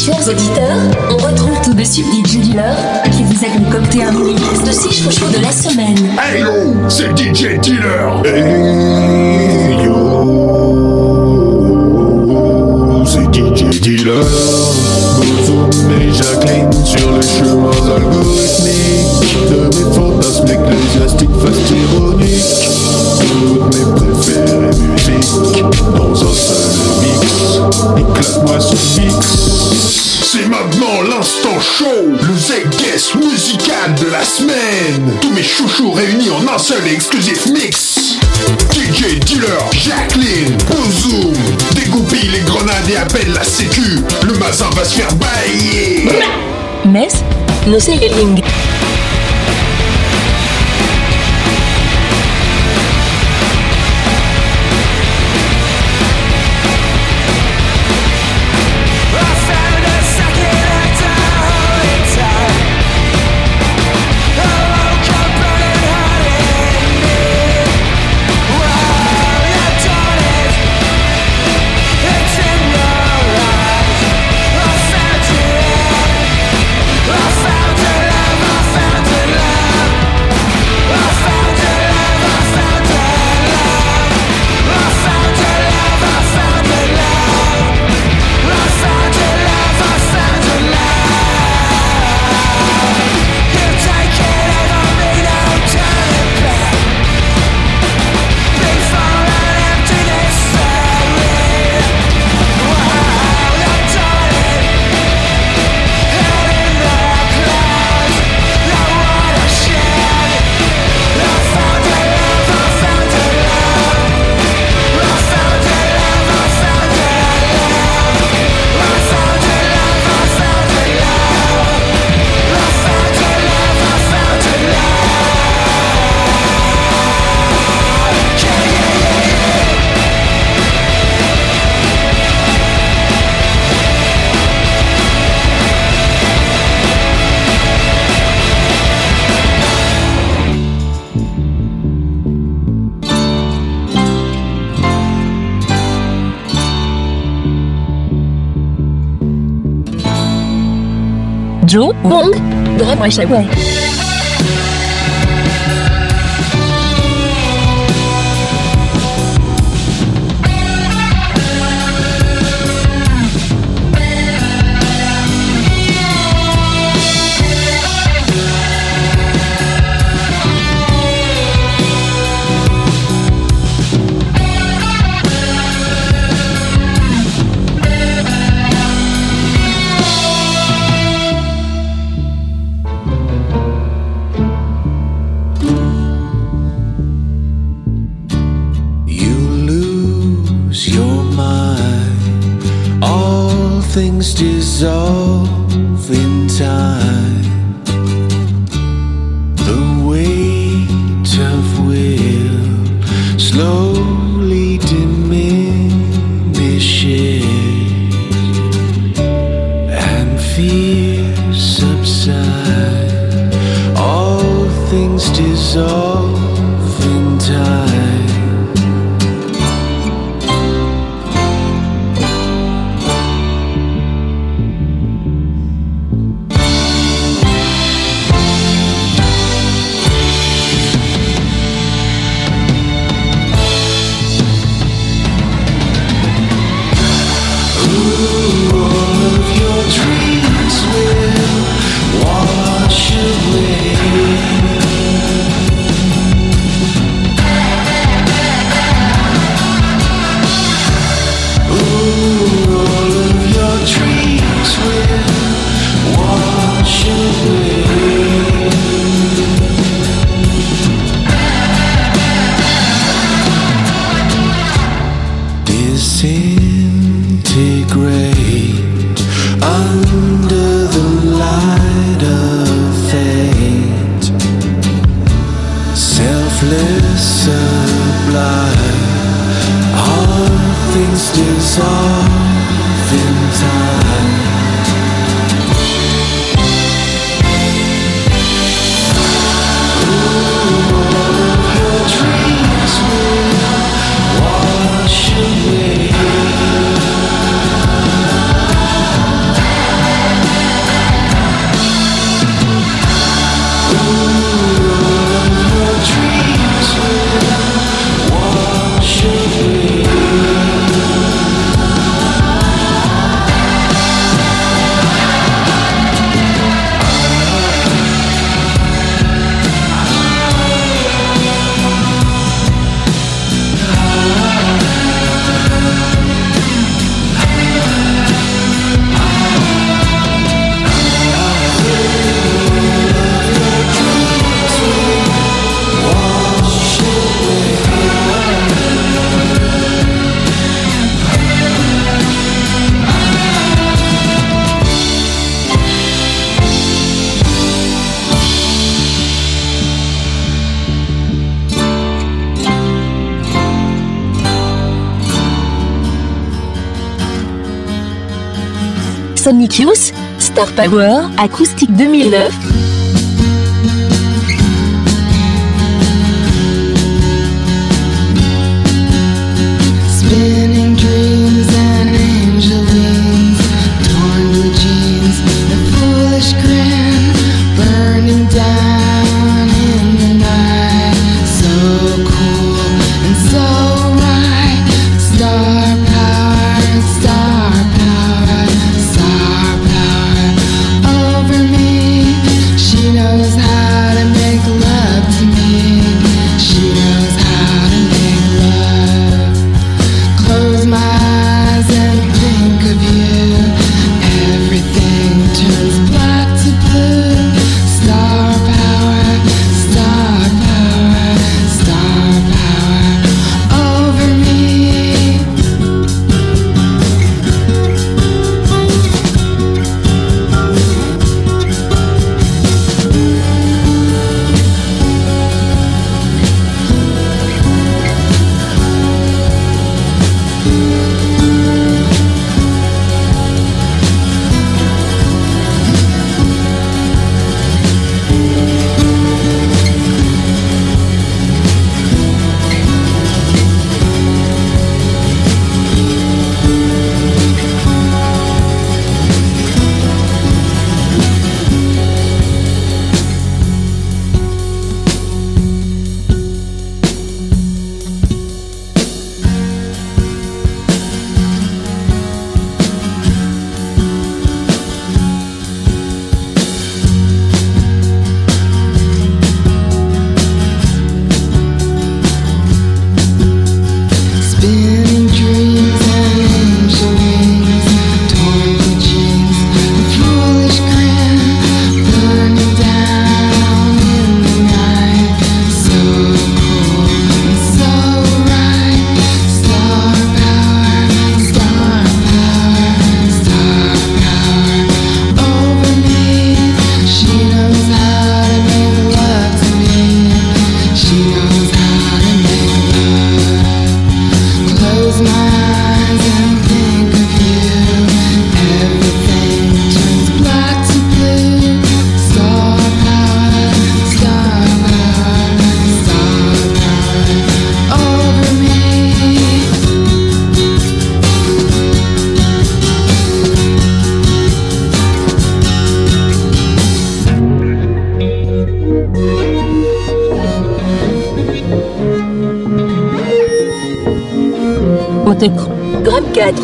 Chers auditeurs, on retrouve tout de suite DJ Dealer qui vous a concocté un mini mix de 6 chouchous de la semaine. Hey yo, c'est DJ Dealer. Hey yo, c'est DJ Dealer. Bozoum et Jacqueline sur le chemin algorithmique de mes fantasmes ecclésiastiques fast ironiques. Toutes mes préférées musiques dans un seul mix. Éclate-moi ce mix. C'est maintenant l'instant show, le Z-Guest musical de la semaine. Tous mes chouchous réunis en un seul et exclusif mix. DJ Dealer, Jacqueline, Bozoum, dégoupille les grenades et appelle la sécu. Le mazin va se faire bailler. Mess, no selling. Joe Wong, Drum Rushaway. Things dissolve in time. The weight of will slowly diminishes, and fear subsides. All things dissolve in time. Sonic Youth, Star Power, Acoustique 2009. Spinning dreams and angel wings, torn blue jeans, a foolish grin, burning down in the night. So cool and so right. Star power, star power, star power over me. She knows how to make love to me. She knows how to make love. Close my eyes and think of you. Everything turns black to blue. Star power, star power, star power over me. Spinning dreams and angel wings, torn blue jeans, a foolish grin, burning down in the night. So cool and so right. Star power, star power, star power over me. She knows how to make love to me. She knows how to make love. Close my eyes and think of you. Everything turns black to blue. Star power, star power, star power over me. On te prend. Gramme 4.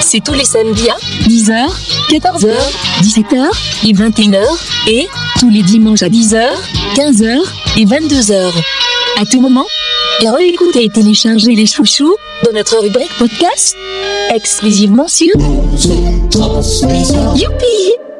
C'est tous les samedis à 10h, 14h, 17h et 21h. Et tous les dimanches à 10h, 15h et 22h. À tout moment, et réécoutez et téléchargez les chouchous dans notre rubrique podcast exclusivement sur Youpi!